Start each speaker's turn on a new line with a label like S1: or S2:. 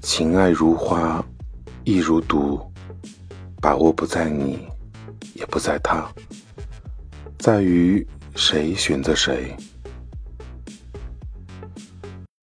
S1: 情爱如花，亦如毒，把握不在你，也不在他，在于谁选择谁。